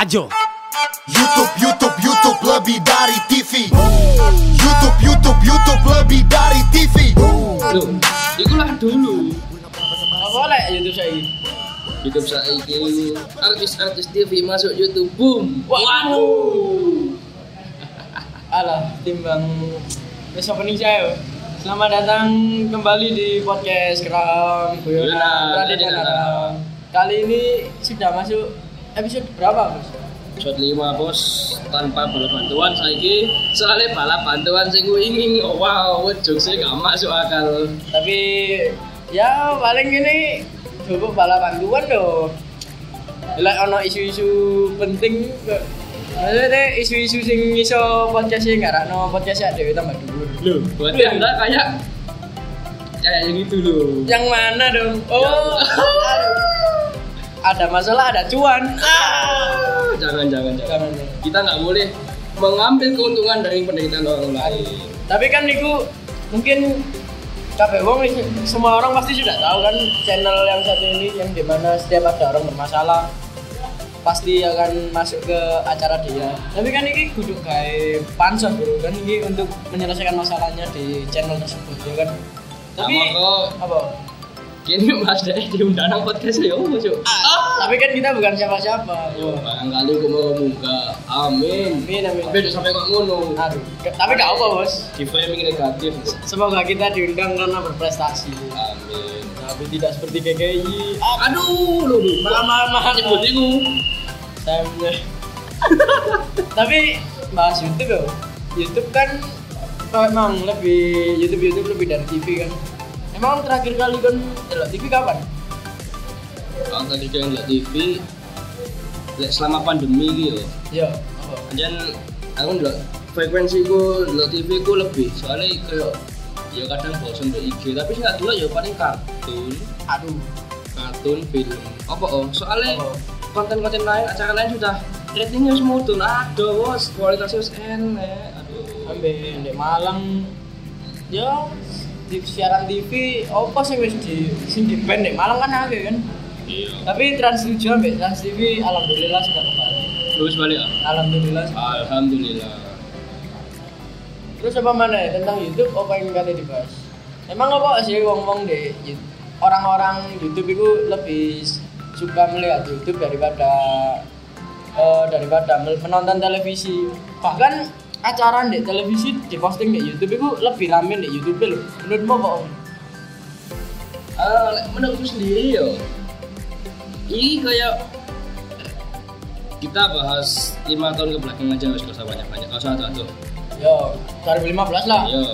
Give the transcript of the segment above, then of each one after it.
Maju. YouTube lebih dari TV. YouTube lebih dari TV. Loh, iku lah dulu. Apa lek YouTube saya ini? YouTube saiki artis-artis TV masuk YouTube, boom. Waduh. Alah, timbang wis opening saya. Selamat datang kembali di podcast Keram Guyonan Raden Aram. Kali ini sudah masuk episode berapa, Bos? Episode 5, Bos. Tanpa balap bantuan saiki. Soalnya balap bantuan sing ingin wow, jokesnya gak masuk akal. Tapi ya paling ini cukup balap bantuan loh. Lek ono isu-isu penting maksudnya isu-isu sing iso podcastnya nggak rakno podcastnya dewe tambah dulu. Loh, berarti Anda kayak yang itu loh. Yang mana dong? Oh, ada masalah, ada cuan. Jangan. Kita nggak boleh mengambil keuntungan dari penderitaan orang lain. Tapi kan niku mungkin kabeh wong semua orang pasti sudah tahu kan channel yang satu ini yang dimana setiap ada orang bermasalah pasti akan masuk ke acara dia. Tapi kan ini kudu kayak pansos bro kan ini untuk menyelesaikan masalahnya di channel tersebut ya kan. Tapi apa? Kini Mas Dek diundang nang podcast ya masuk. Tapi kan kita bukan siapa-siapa. Yo, barangkali aku mau muka. Amin. Amin. Tapi sampai kok ngono. Aduh. Tapi gak apa, Bos. Di framing negatif. Semoga kita diundang karena berprestasi. Amin. Tapi tidak seperti KKI. Aduh, lu mahal nyebut itu. Tapi bahas YouTube ya. YouTube kan memang lebih YouTube lebih dari TV kan. Emang terakhir kali kan lihat TV kapan? Kalau tadi kan lihat TV selama pandemi gitu. Iya. Dan aku lihat frekuensi ku lihat TV ku lebih soalnya kayak ya kadang bosan di IG tapi nggak dulu ya paling kartun film soalnya konten-konten lain acara lain sudah ratingnya semua mudun bos kualitasnya enak ambil di Malang ya di siaran TV apa sih wis di band di Malang kan ada kan iya tapi Trans 7 sampai Trans TV alhamdulillah sudah kembali terus balik alhamdulillah terus apa mana ya tentang YouTube apa yang kalian dibahas emang apa sih ngomong deh orang-orang YouTube itu lebih suka melihat YouTube daripada menonton televisi bahkan acara di televisi diposting di YouTube itu lebih rame di YouTube loh menurutmu apa om? Menurutku sendiri ya ini kayak kita bahas 5 tahun ke belakang aja nggak usah banyak-banyak satu yo 2015 lah yo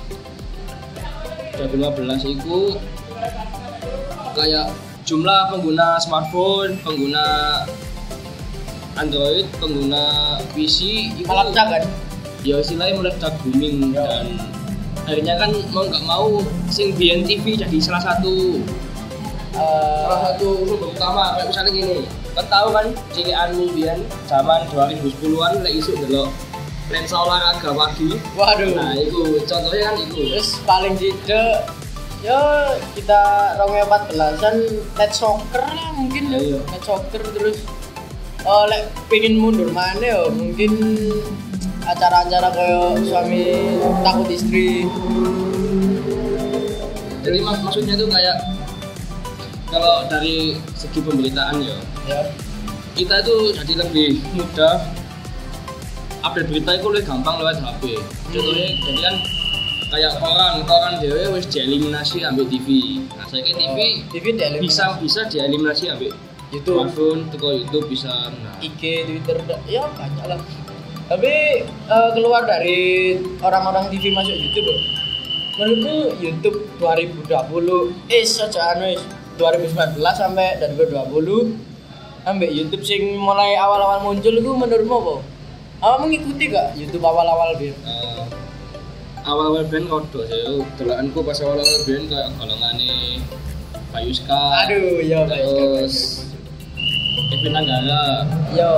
2015 itu kayak jumlah pengguna smartphone, pengguna Android, pengguna PC itu meledak kan? Ya istilahnya meledak booming dan akhirnya kan mau nggak mau sing BNTV jadi salah satu sumber utama kayak misalnya gini kan tahu kan cilianmu biyen zaman 2010-an lek isu delok lensa olahraga pagi waduh nah itu contohnya kan itu terus paling tidak ya kita 2014an net soccer lah mungkin ya net soccer terus lek pengen mundur mana ya mungkin acara-acara kayak suami takut istri jadi maksudnya tuh kayak kalau dari segi pemberitaan ya kita tuh jadi lebih mudah update berita itu lebih gampang lewat HP contohnya jadi kan kayak koran dewe wis dieliminasi ambil TV nah saya TV bisa dieliminasi ambil YouTube smartphone teko YouTube bisa IG Twitter ya banyak lah tapi keluar dari orang-orang TV masuk YouTube loh. Menurutku YouTube 2020 2019 sampai 2020 sampai YouTube sing mulai awal-awal muncul itu menurutmu apa? Awak mengikuti gak YouTube awal-awal biar? Awal-awal band kodo saya dolaanku pas awal-awal band kayak golongane Bayuska aduh ya terus Kevin Anggara yo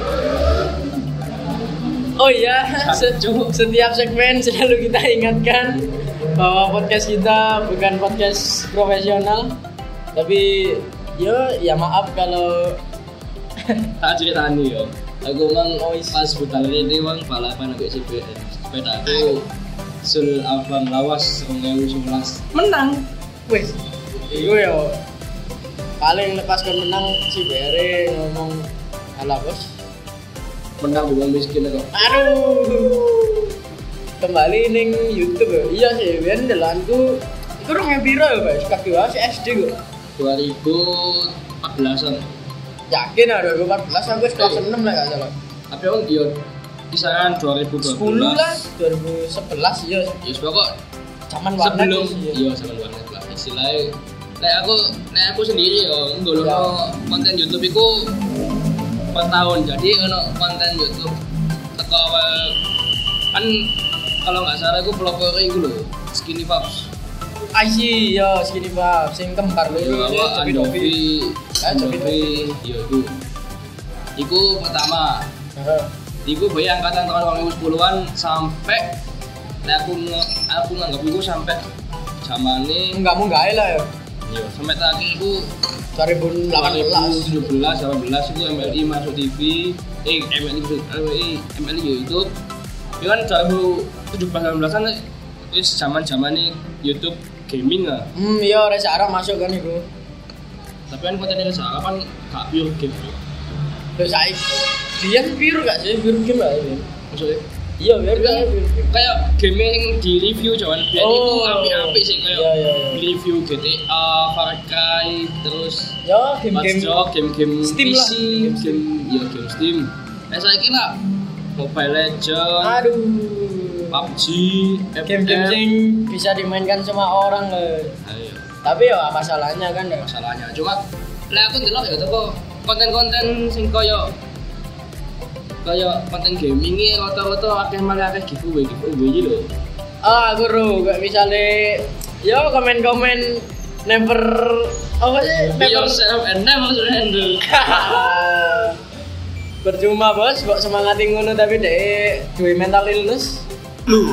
oh iya setiap segmen selalu kita ingatkan bahwa podcast kita bukan podcast profesional tapi ya maaf kalau tak ceritani yo Aku mang pas budal ini wong balapan ambek CBR. Sepeda aku Sul Abang Lawas 2011 menang. Wes. Iku ya paling lepas kan menang si Bere ngomong ala bos. Menang dengan miskin kok. Aduh. Kembali ning YouTube ya. Iya sih, ben delanku iku rong piro ya, Guys? Kaki wae SD kok. 2014-an. Yakin ada 2014 aku wis kelas 6 lah gak salah. Tapi aku dia kisaran 2012 10 lah, 2011 ya. Ya pokok Zaman warnet sebelum sih, ya. iya zaman warnet lah istilahnya nek aku sendiri yo nggolono konten YouTube iku per tahun. Jadi ono konten YouTube teko awal kan kalau nggak salah aku pelopor iku lho Skinny Pops. Aji yo sini Pak, sing kembar lho. Yo apa Andovi yo iku pertama. Iku bayi angkatan tahun 2010-an sampai nek aku nganggap iku sampai zamane Enggak mau gawe lah ya. yo sampai terakhir iku 2018. 2017 18 itu MLI masuk TV MLI YouTube itu kan 2017-18an wis zaman-zamane YouTube gaming lah. Iya rek arah masuk kan iku. Tapi kan kontennya sekarang kan gak pure game bro. Terus dia pure gak sih? Pure game lah ini. Maksudnya Iya, biar kayak game yang di review cuman biar itu apik-apik sih kayak iya. review GTA, Far Cry, terus ya game-game game Steam PC, lah. game Steam. Saya kira Mobile Legends, aduh, PUBG, game-game sing bisa dimainkan semua orang loh. Ayo. Tapi ya masalahnya kan ya. Masalahnya cuma lah aku ndelok ya toko konten-konten sing koyo konten gaming iki rata-rata akeh malah akeh giveaway iki lho. Aku ro kayak misale yo komen-komen never apa sih? Be yourself and never surrender. Percuma bos, kok semangatin ngono tapi dek duwe mental illness. Lu.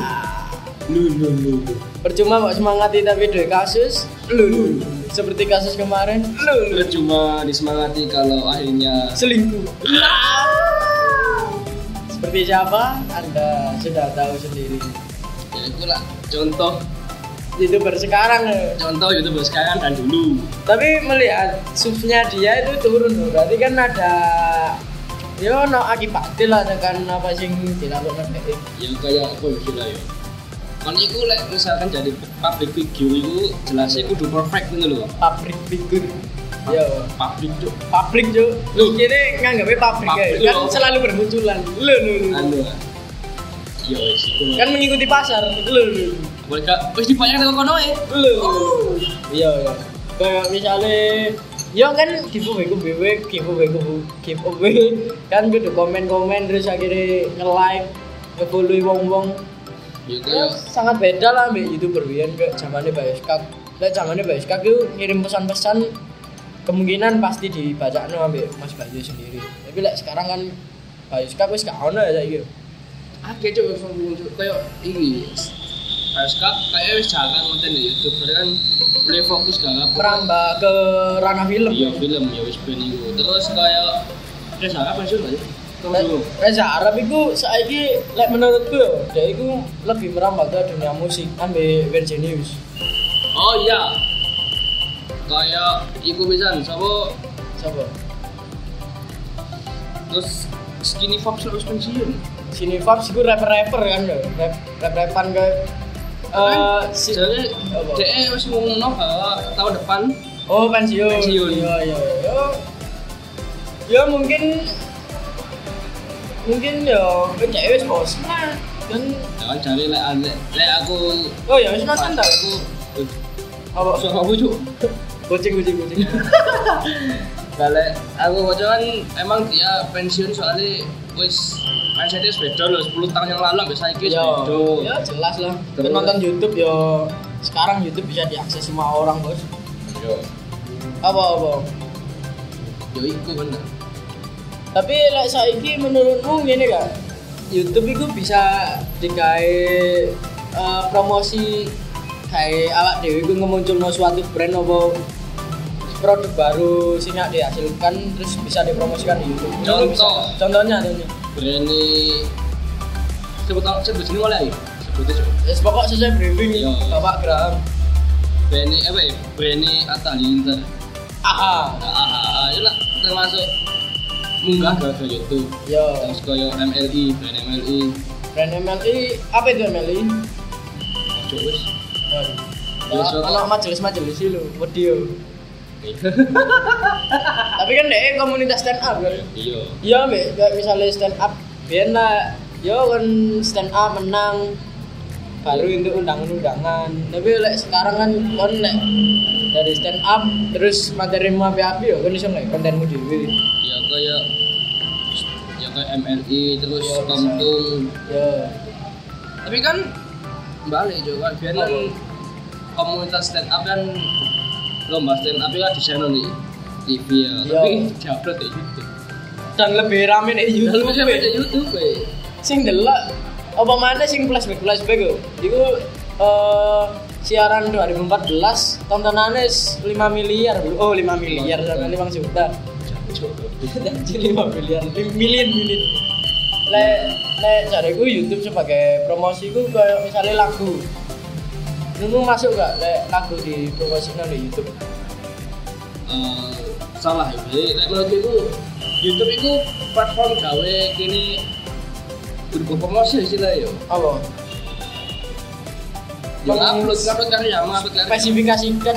Percuma kok semangati tapi duwe kasus. Lu. Seperti kasus kemarin. Lu cuma disemangati kalau akhirnya Selingkuh. Seperti siapa? Anda sudah tahu sendiri. ya itulah contoh YouTuber sekarang. YouTuber sekarang dan dulu. Tapi melihat subsnya dia itu turun loh. Berarti kan ada yo no akibatnya lah dengan apa sing dilakukan kayak Ya kayak apa gila ya. Kan iku lek misalkan jadi public figure iku jelasnya kudu perfect gitu loh. pabrik figur. Yo, Public tuh. Lu kene nganggapnya pabrik Pabrik ya. Kan lho. selalu bermunculan. Lu. Anu. Yo wis iku. Kan mengikuti pasar. Lu. Mereka wis dibayar nang kono ya. Lu. Iya. Kayak misalnya yo kan giveaway kan kudu komen terus akhirnya nge-like, nge-follow wong-wong. Ya Ya, kayak sangat beda lah mbak YouTuber biyen ke zamannya Bayoskak. Lah zamannya Bayoskak itu ngirim pesan-pesan kemungkinan pasti dibaca ambek Mas Bayu sendiri. Tapi lek sekarang kan Bayoskak wis gak ono ya saiki. akeh cuk muncul kayak iki. Bayoskop kayak wis jarang konten di YouTube soalnya kan mulai fokus ke apa? Merambah ke ranah film. Iya film ya wis ben iku. Terus kayak Reza Arab pensiun gak sih? Reza Arab itu saiki lek menurutku yo, dia itu lebih merambah ke dunia musik ambek Virginius. Oh iya. Kayak iku pisan sapa? Siapa? Terus Skinny Fox harus pensiun. Sini Fabs itu rapper kan lho. Rap-rapan ke Jadi apa? DE wis ngomongno bahwa tahun depan Oh pensiun. Pensiun. Iya. Ya mungkin ya dia wis bosen lah. Dan jangan cari lek aku oh ya wis bosen ta. aku Apa suara aku cuk. kucing. Balik aku kan emang dia pensiun soalnya wis mindsetnya beda loh 10 tahun yang lalu sampai saiki wis beda. Ya jelas lah. Terus. Kan nonton YouTube ya sekarang YouTube bisa diakses semua orang, Bos. Yo. Apa? Yo iku bener. Tapi lek saiki menurutmu ngene gak? YouTube itu bisa digawe promosi kayak awak dhewe iku ngemunculno suatu brand apa produk baru sing dihasilkan terus bisa dipromosikan di YouTube. Contohnya Breni sebut sini oleh sebutnya pokok sesuai briefing Bapak Graham. Breni Atalinter. Itu lah termasuk munggah ke YouTube. Terus koyo MLI, brand MLI, apa itu MLI? Ojo wis. Anak majelis itu, video. Tapi kan deh komunitas stand up kan. Iya, misalnya stand up, biar lah, kan stand up menang, baru itu undangan. Tapi sekarang kan dari stand up terus materimu api-api kan bisa nggak kontenmu dewi. Ya kayak MLI terus Komtung. Tapi kan balik juga biar komunitas stand up kan lomba stand up kan di channel nih TV ya. Tapi diupload di YouTube. Dan lebih rame di YouTube. Sing delok apa mana sing flashback kok. Iku siaran 2014 tontonannya 5 miliar. 5 miliar sampai 5 juta. Jadi 5 miliar, million. Lek cariku YouTube sebagai promosiku kayak misalnya lagu. Lu masuk gak lagu di promosikan di YouTube? Salah ya. Lek menurutku YouTube itu platform gawe kini berupa promosi istilahnya. Apa? Yang upload karya. Spesifikasikan.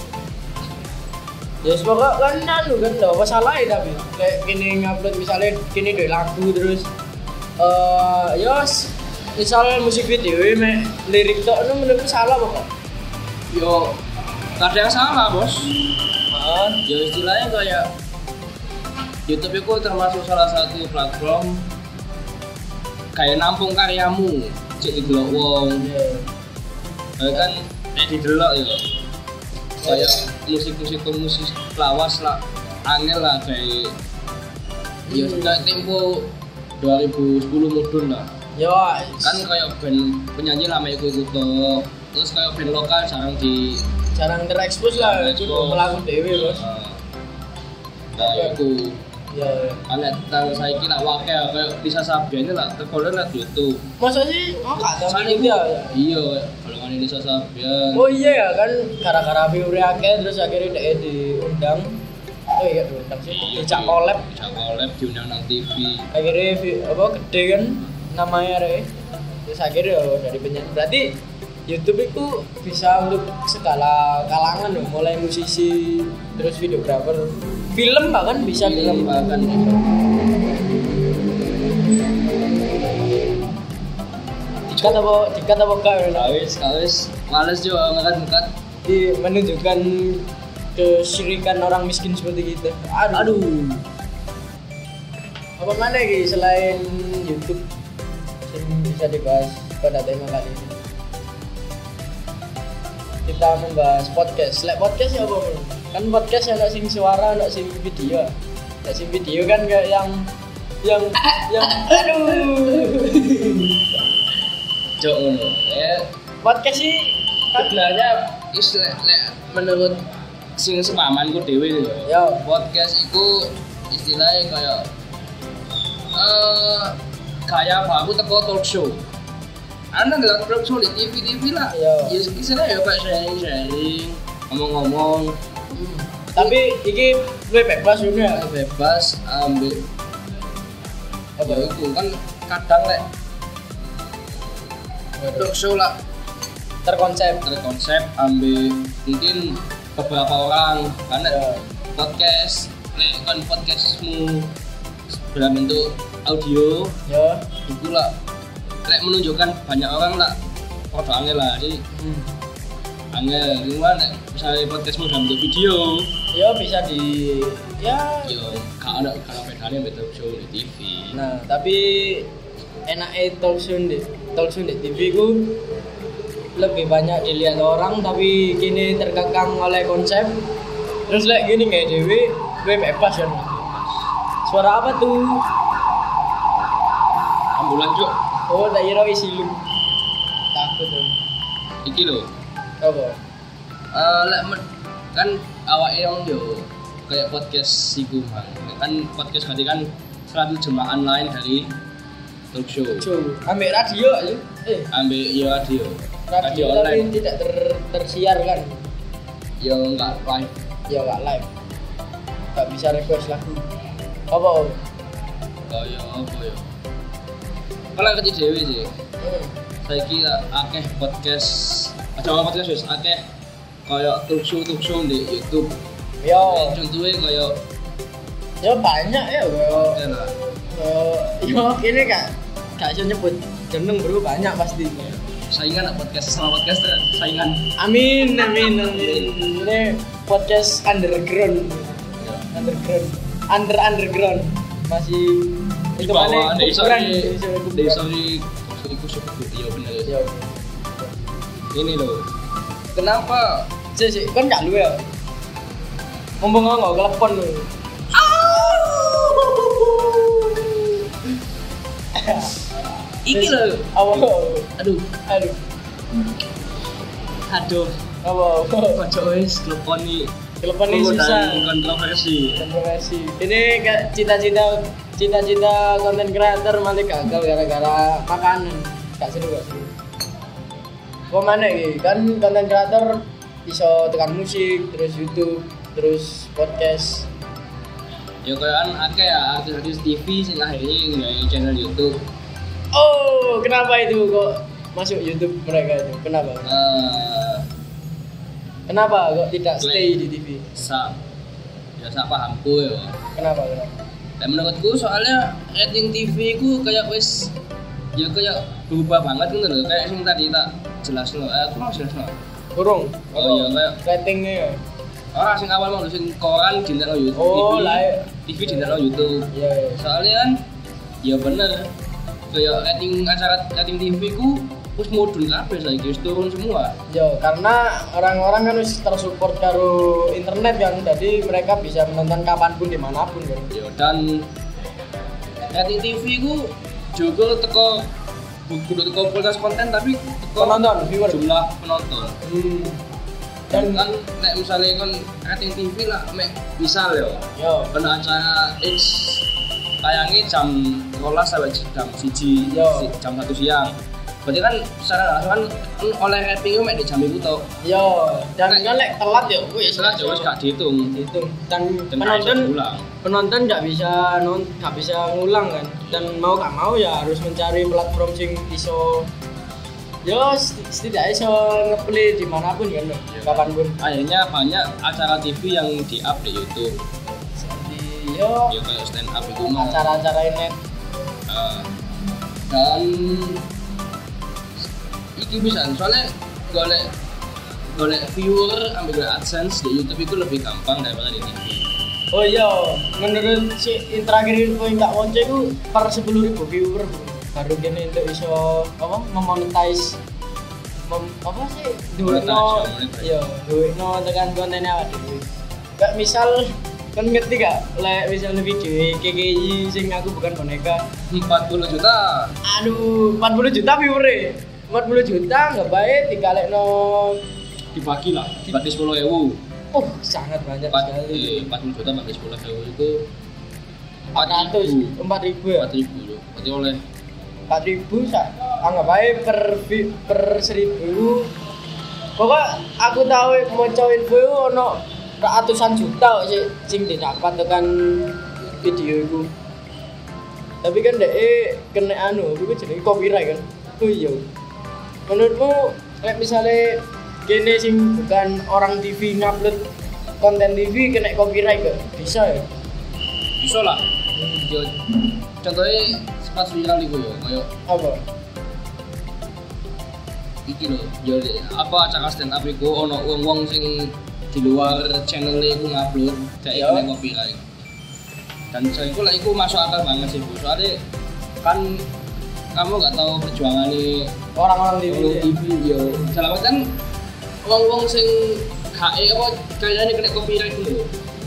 Ya semoga kan anu kan enggak apa salah ya tapi kayak gini ngupload misalnya gini deh lagu terus misalnya musik video lirik tok itu menurutku salah pokok. Yo kadang salah bos. Ya istilahnya kayak YouTube itu termasuk salah satu platform kayak nampung karyamu cek didelok wong. Kan didelok ya. Kayak musik lawas lah, angel lah kayak ya kayak tempo 2010 mudun lah. Kan kayak band penyanyi lama ikut terus kayak band lokal jarang terekspos lah, itu melakukan dewe bos. Itu anak tahun saya kira wakil kayak bisa Sabian lah terkolen lah YouTube. Masa sih? Gak dia? Iya, kalau kan Lisa Sabian. Oh iya ya kan gara-gara viewer akeh terus akhirnya dia diundang. Oh iya diundang sih. Dicak collab diundang nang TV. Akhirnya gede kan namanya terus akhirnya dari penyanyi. Berarti YouTube itu bisa untuk segala kalangan loh, mulai musisi terus videografer, film bahkan bisa bahkan. Dikat apa kau? Kawis, males juga ngangkat menunjukkan kesyirikan orang miskin seperti kita. Aduh. Apa mana lagi selain YouTube yang bisa dibahas pada tema kali ini? Kita membahas podcast. Podcast ya apa? Kan podcast ada sing suara, ada sing video. Ada sing video kan kayak yang aduh. Jauh podcast sih sebenarnya istilah menurut sing sepamanku dhewe ya. Podcast itu istilahnya kayak baru teko talk show. Anda nggak talk show di TV lah. Ya istilahnya ya kayak sharing, ngomong-ngomong. Tapi ini gue bebas juga. Bebas ambil. Apa itu kan kadang talk show lah terkonsep ambil mungkin beberapa orang karena podcast kan podcastmu dalam bentuk audio itu lah menunjukkan banyak orang lah foto angel lah jadi angel gimana misalnya podcastmu dalam bentuk video bisa di kalau bedanya talk show di TV. Nah tapi enaknya talk show di TV ku lebih banyak dilihat orang tapi kini terkekang oleh konsep terus gini kayak dewe gue bebas kan. Suara apa tuh? Ambulan cuk. Oh tak kira isi lu takut tuh iki lho apa? Kan awake yo kayak podcast iku kan podcast berarti kan suatu jemaah lain dari talk show. Ambil radio aja. Ambil ya radio Radio online. tapi tidak tersiar kan? Yo enggak live. Ya nggak live. Nggak bisa request lagu. Apa? Kaya apa ya? Kalau ngerti dhewe sih. Saiki akeh podcast, aja podcast wis akeh kaya talk show di YouTube. Yo. Contohnya kaya Ya banyak ya kaya. ya lah. Yo kene gak iso nyebut jeneng bro, banyak pasti. Saingan podcast sama podcast saingan. Amin. Ini podcast underground. Underground. Masih Di bawah ukuran. sorry ikut sebut iya bener. Ya. Ini loh. Kenapa? Sik kan gak lu ya. Ngomong nggak telepon lu. Iki loh. Aduh. Aduh. Apa? Kocok wis teleponi. Telepon ini susah. Kontroversi. Ini cita-cita konten kreator malah gagal gara-gara makanan. Gak seru. Kok mana iki? Kan konten kreator bisa tekan musik, terus YouTube, terus podcast. Ya kayak akeh ya artis-artis TV sing akhirnya nggak channel YouTube. Oh, kenapa itu kok masuk YouTube mereka itu? Kenapa? Kenapa kok tidak stay di TV? Sak pahamku ya. Kenapa? Dan menurutku soalnya rating TV ku kayak wis ya kayak berubah banget gitu loh. Kayak sing tadi tak jelasno. Aku mau jelasno. Kurung. Oh iya kayak ratingnya ya. Orang sing awal mau nulisin koran dintekno YouTube. Oh, lah. TV dintekno YouTube. Iya. Soalnya kan ya bener kayak rating TV ku wis mudhun kabeh saiki wis turun semua. Yo, karena orang-orang kan wis tersupport karo internet kan, jadi mereka bisa menonton kapanpun dimanapun kan. Yo dan rating TV ku juga teko bukan teko kualitas konten tapi teko Penonton, viewer. jumlah penonton. Dan Dan kan nek misalnya kan rating TV lah mek misal yo, kena acara X tayangnya jam 12 sampai jam 1 Yo. jam 1 siang. Berarti kan secara langsung kan oleh rating mek di jam itu toh. yo, dan kan lek telat yo, wis Setelah jauh gak dihitung. dihitung. Dan Dan gak bisa diulang. penonton nggak bisa ngulang kan, dan mau gak mau ya harus mencari platform sing iso yo setidaknya iso ngeplay dimanapun kan, kapanpun. Akhirnya banyak acara TV yang di-up di YouTube. Seperti yo Ya kayak stand up itu mah. acara-acara net. Dan iki bisa soalnya golek viewer ambil AdSense di YouTube itu lebih gampang daripada di TV. Oh iya, menurut si terakhir info yang tak wonce itu per 10.000 viewer baru gini untuk iso apa memonetize apa sih duitno iya duitno tekan kontennya awake dhewe. Gak misal kan ngerti gak lek misalnya video KKI sing aku bukan boneka 40 juta. aduh 40 juta viewer 40 juta nggak baik dikalekno Dibagi lah, berarti 10.000. sangat banyak sekali 40 juta bagi 10.000 itu 400 4.000 ya 4.000 loh. Berarti oleh 4.000 anggap aja per 1.000. Pokok aku tahu mau info itu ono ratusan juta sing didapat tekan video itu. Tapi kan dek kena itu jadi copyright kan. Oh iya. Menurutmu kayak misalnya gini sing bukan orang TV ngupload konten TV kena copyright gak? Bisa ya? bisa lah. Yo, contohnya sempat viral iku yo kayak Apa? iki lho, yo apa acara stand up iku ono wong-wong sing di luar channel iku ngupload kayak Yo. kena copyright. Dan saya iku lah iku masuk akal banget sih, Bu. Soalnya kan kamu gak tahu perjuangan nih Orang-orang TV. TV yo. Dalam kan wong-wong sing HE apa kayaknya kena copyright dulu.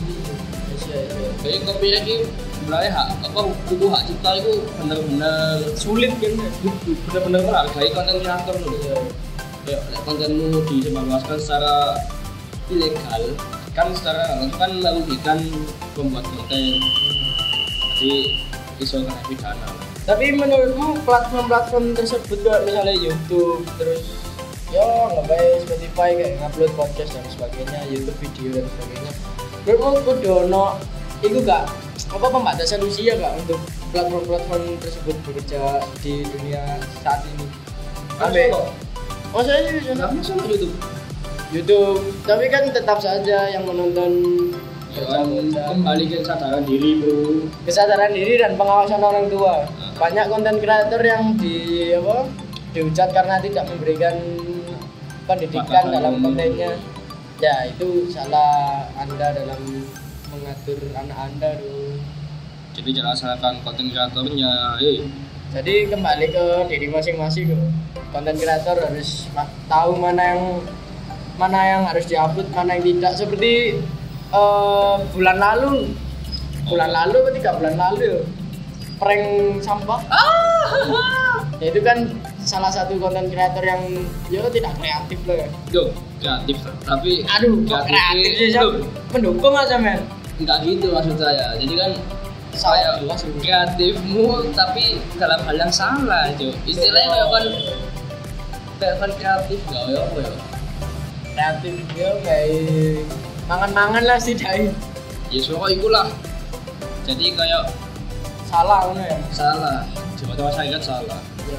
Kayak copyright itu sebenarnya hak apa buku hak cipta itu bener-bener Sulit kan? bener-bener menghargai konten kreator loh. Kayak kontenmu disebarluaskan secara ilegal, kan secara kan merugikan pembuat konten. Jadi iso kena pidana. Tapi menurutmu platform-platform tersebut kayak misalnya YouTube terus ya ngapain Spotify kayak ngupload podcast dan sebagainya, YouTube video dan sebagainya. Menurutmu kudu ono iku gak apa pembatasan usia gak untuk platform-platform tersebut bekerja di dunia saat ini? Sampai saya sih sama YouTube, tapi kan tetap saja yang menonton kembali ke kesadaran diri bro, kesadaran diri dan pengawasan orang tua. Banyak konten kreator yang dihujat karena tidak memberikan pendidikan dalam kontennya. Ya itu salah Anda dalam mengatur anak Anda dong. Jadi jangan salahkan konten kreatornya. Jadi kembali ke diri masing-masing loh. Konten kreator harus tahu mana yang harus diupload, mana yang tidak. Seperti bulan lalu atau 3 bulan lalu prank sampah. Ya itu kan salah satu konten kreator yang tidak kreatif loh ya. Kreatif tapi kreatif sih mendukung aja men. Enggak gitu maksud saya. Jadi kan saya kreatifmu tapi dalam hal yang salah cuy. Istilahnya kan kreatif enggak ya apa ya? Kreatif yo kayak mangan-mangan lah sih dai. Ya soalnya ikulah. Jadi kayak salah ngono ya. Salah. Coba saya ingat salah.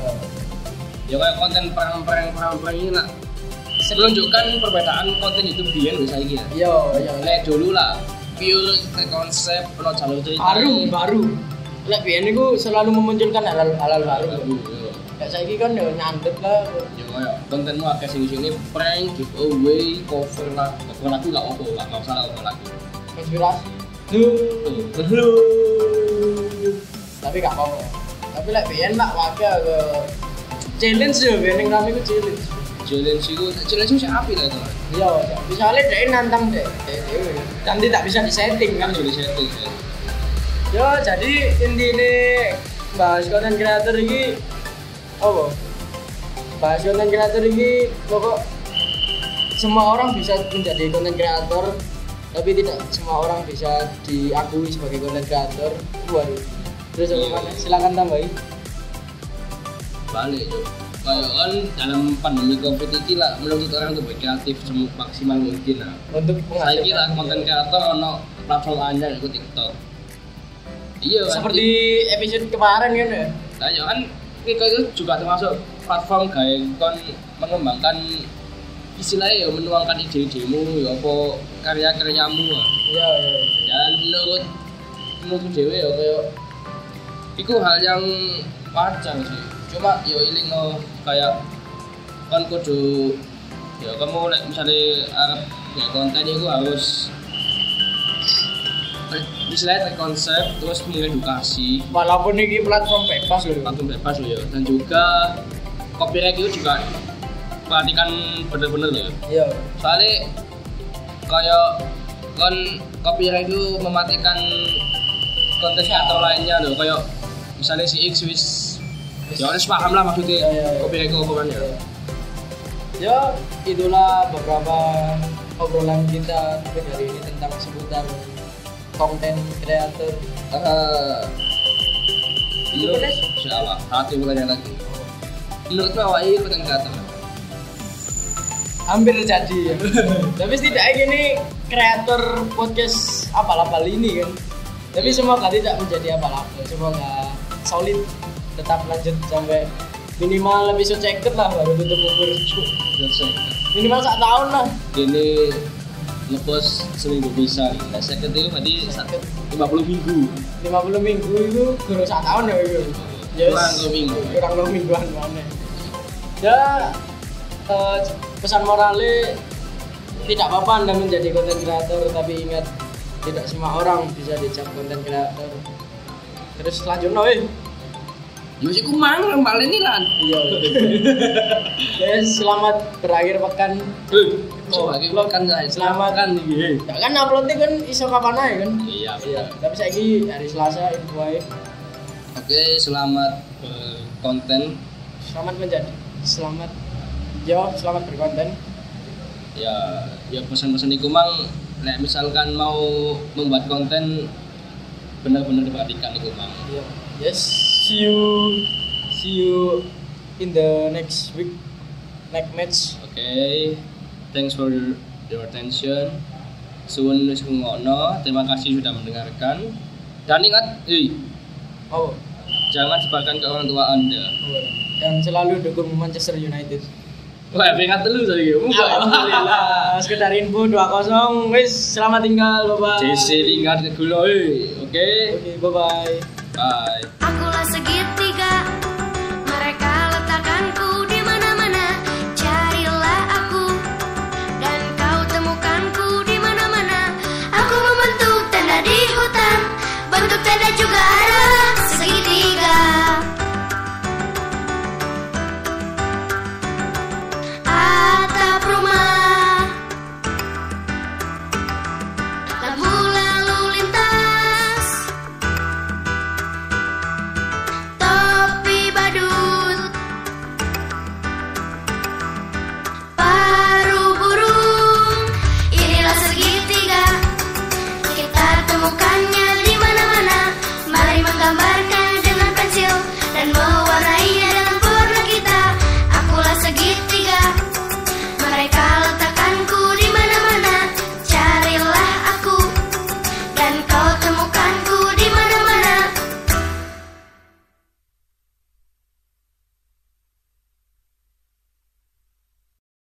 Ya kayak konten perang ini lah. Menunjukkan perbedaan konten YouTube biyen wis saiki ya. Iya. Lek dulu lah pure konsep ono jalur cerita. Baru. Lek biyen niku selalu memunculkan hal-hal baru. Kayak saiki kan yo nyandet lah. Ya kayak kontenmu akeh sing prank, giveaway, cover lagu gak apa, gak usah cover lagu. Inspirasi. Tapi gak apa-apa. Tapi lek biyen lah wae ke challenge yo biyen ning rame ku challenge. Challenge sih apik lah itu. Iya, misalnya dia nantang deh. Dan tidak bisa disetting kan. Disetting. Ya, jadi intinya bahas konten kreator ini apa? Bahas konten kreator ini pokok semua orang bisa menjadi konten kreator, tapi tidak semua orang bisa diakui sebagai konten kreator. Waduh. Terus apa? Silakan tambahin. Balik, Cuk. Kayak kan dalam pandemi Covid ini lah menuntut orang untuk berkreatif semaksimal mungkin lah. Untuk saya kira konten kreator ono platform anyar itu TikTok. Iya kan. Seperti episode kemarin kan ya. Nah, ya kan TikTok itu juga termasuk platform kayak kon mengembangkan istilahnya ya menuangkan ide-idemu ya apa karya-karyamu. Iya. Dan menurut dewe ya kayak itu hal yang wajar sih. Cuma yo ilingo kayak kan kudu ya kamu misalnya arep ya konten itu harus istilahnya konsep terus mengedukasi walaupun ini platform bebas loh ya, dan juga copyright itu juga perhatikan bener-bener ya. Iya. Soalnya kayak kan copyright itu mematikan konten kreator lainnya loh, kayak misalnya si X ya harus paham lah maksudnya copyright itu apa kan ya. Ya itulah beberapa obrolan kita hari ini tentang seputar konten kreator. Iya, insyaallah. Hati bukan lagi. Menurut awak ini konten kreator? Hampir jadi ya. Tapi setidaknya gini kreator podcast apal-apal ini kan. Tapi semoga tidak menjadi apal-apal. Semoga solid tetap lanjut sampai minimal episode 50 lah baru tutup umur. Minimal 1 tahun lah. Ini ngepost seminggu bisa. Nah, saya itu berarti 50 minggu. 50 minggu itu kurang 1 tahun ya itu. Kurang 2 minggu. Kurang 2 mingguan mana. Ya pesan moralnya tidak apa-apa Anda menjadi konten kreator, tapi ingat tidak semua orang bisa dicap konten kreator. Terus selanjutnya Yosi kumang kembali nih lan. Iya. Yes, selamat berakhir pekan. Pekan guys. Selamat kan iki. Ya kan uploadnya kan iso kapan ae kan? Iya, betul. Tapi saiki hari Selasa info ae. Oke, selamat konten. Selamat berkonten. Ya pesan-pesan iku mang misalkan mau membuat konten benar-benar diperhatikan itu Mang. Yes, see you in the next week, next match. Okay, thanks for your attention. Suwun wis ngono, terima kasih sudah mendengarkan. Dan ingat, jangan sebarkan ke orang tua Anda. Dan selalu dukung Manchester United. Wah, peringkat telu tadi. Alhamdulillah. Sekedar info 2-0. Wis, selamat tinggal, bye. JC tingkat ke gula. Oke, bye. Bye. Akulah segitiga, mereka letakkanku di mana-mana. Carilah aku dan kau temukanku di mana-mana. Aku membentuk tenda di hutan, bentuk tenda juga adalah segitiga. Atap rumah, lampu lalu lintas, topi badut, paruh burung. Inilah segitiga, kita temukannya di mana-mana. Mari menggambarkan dengan pensil dan mewarnainya dengan warna kita. Akulah segitiga, mereka letakkanku di mana-mana. Carilah aku dan kau temukan